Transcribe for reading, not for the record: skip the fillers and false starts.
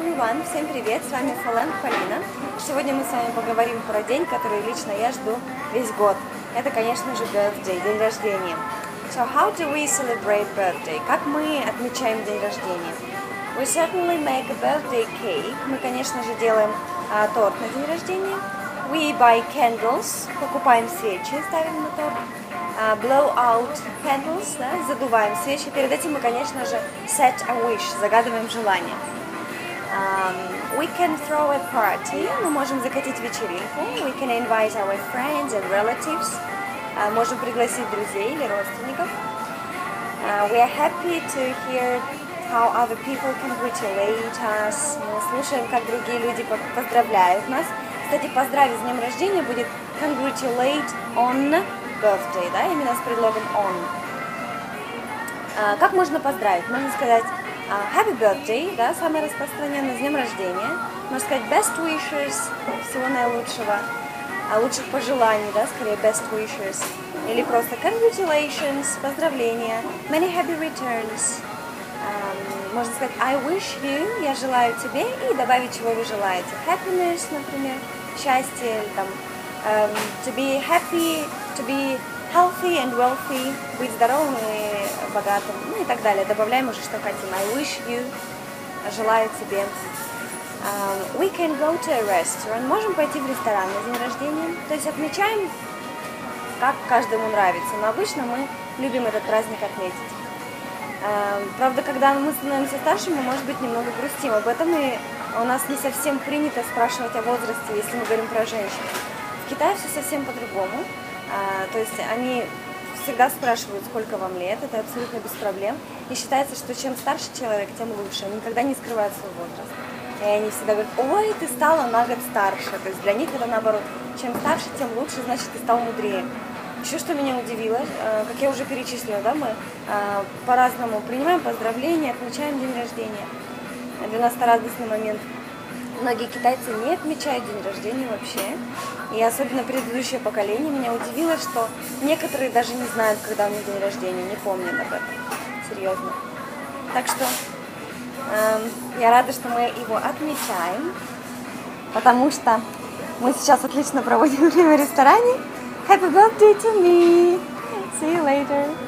everyone! Всем привет! С вами Фален Полина. Сегодня мы с вами поговорим про день, который лично я жду весь год. Это, конечно же, birthday, день рождения. So how do we celebrate birthday? Как мы отмечаем день рождения? We certainly make a birthday cake. Мы, конечно же, делаем торт на день рождения. We buy candles. Покупаем свечи, ставим на торт. Blow out candles, да, задуваем свечи. Перед этим мы, конечно же, set a wish, загадываем желание. We can throw a party, мы можем закатить вечеринку. We can invite our friends and relatives, можем пригласить друзей или родственников. We are happy to hear how other people congratulate us. Мы слушаем, как другие люди поздравляют нас. Кстати, поздравить с днем рождения будет congratulate on birthday, да, именно с предлогом on. Как можно поздравить? Можно сказать happy birthday, да, самое распространенное, с днем рождения. Можно сказать best wishes, всего наилучшего, лучших пожеланий, да, скорее best wishes. Или просто congratulations, поздравления, many happy returns. Можно сказать I wish you, я желаю тебе, и добавить, чего вы желаете. Happiness, например, счастье, или там to be happy, to be healthy and wealthy, быть здоровым и богатым, ну и так далее. Добавляем уже, что хотим. I wish you, желаю тебе. We can go to a restaurant. Можем пойти в ресторан на день рождения. То есть отмечаем, как каждому нравится. Но обычно мы любим этот праздник отметить. Правда, когда мы становимся старше, мы, может быть, немного грустим. Об этом и у нас не совсем принято спрашивать о возрасте, если мы говорим про женщин. В Китае все совсем по-другому. То есть они всегда спрашивают, сколько вам лет, это абсолютно без проблем. И считается, что чем старше человек, тем лучше. Они никогда не скрывают свой возраст. И они всегда говорят, ой, ты стала на год старше. То есть для них это наоборот. Чем старше, тем лучше, значит, ты стал мудрее. Еще что меня удивило, как я уже перечислила, да, мы по-разному принимаем поздравления, отмечаем день рождения. Для нас это радостный момент. Многие китайцы не отмечают день рождения вообще. И особенно предыдущее поколение меня удивило, что некоторые даже не знают, когда у них день рождения, не помнят об этом. Серьезно. Так что я рада, что мы его отмечаем, потому что мы сейчас отлично проводим время в ресторане. Happy birthday to me! See you later!